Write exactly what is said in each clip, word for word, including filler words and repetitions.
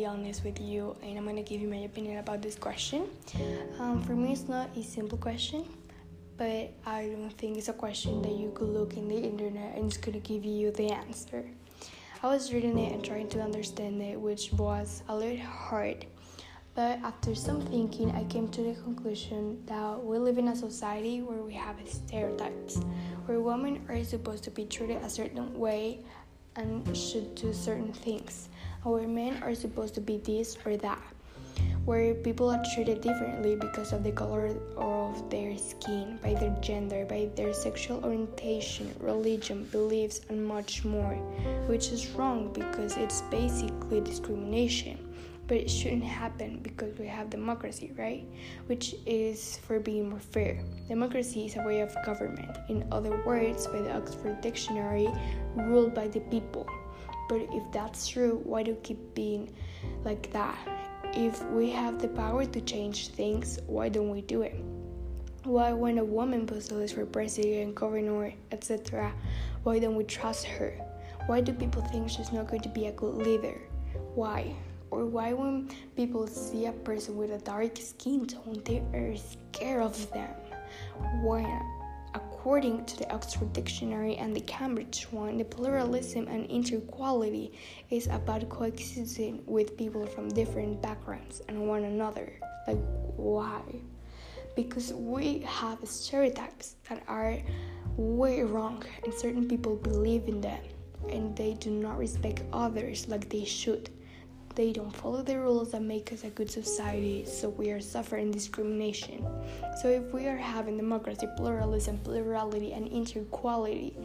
be honest with you, and I'm gonna give you my opinion about this question. Um, for me, it's not a simple question, but I don't think it's a question that you could look in the internet and it's gonna give you the answer. I was reading it and trying to understand it, which was a little hard. But after some thinking, I came to the conclusion that we live in a society where we have stereotypes, where women are supposed to be treated a certain way and should do certain things, and where men are supposed to be this or that, where people are treated differently because of the color of their skin, by their gender, by their sexual orientation, religion, beliefs, and much more, which is wrong because it's basically discrimination. But it shouldn't happen because we have democracy, right? Which is for being more fair. Democracy is a way of government. In other words, by the Oxford Dictionary, ruled by the people. But if that's true, why do we keep being like that? If we have the power to change things, why don't we do it? Why, when a woman postulates for president, governor, et cetera, why don't we trust her? Why do people think she's not going to be a good leader? Why? Or why when people see a person with a dark skin tone, they are scared of them? Why? According to the Oxford Dictionary and the Cambridge one, the pluralism and inequality is about coexisting with people from different backgrounds and one another. Like, why? Because we have stereotypes that are way wrong, and certain people believe in them, and they do not respect others like they should. They don't follow the rules that make us a good society, so we are suffering discrimination. So if we are having democracy, pluralism, plurality, and inequality,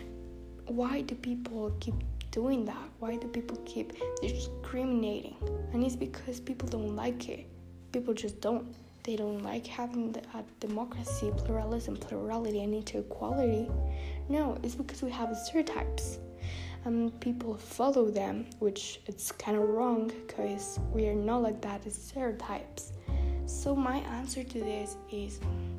why do people keep doing that? Why do people keep discriminating? And it's because people don't like it. People just don't. They don't like having the, a democracy, pluralism, plurality, and inequality. No, it's because we have stereotypes. And people follow them, which it's kind of wrong because we are not like that as stereotypes. So my answer to this is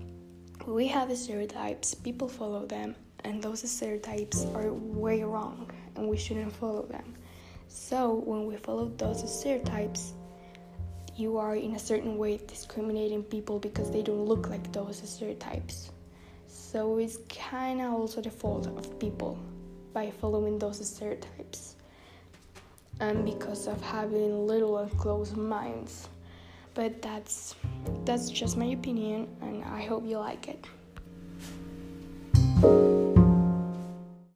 we have stereotypes, people follow them, and those stereotypes are way wrong and we shouldn't follow them. So when we follow those stereotypes, you are in a certain way discriminating people because they don't look like those stereotypes. So it's kind of also the fault of people by following those stereotypes and because of having little and closed minds. But that's that's just my opinion, and I hope you like it.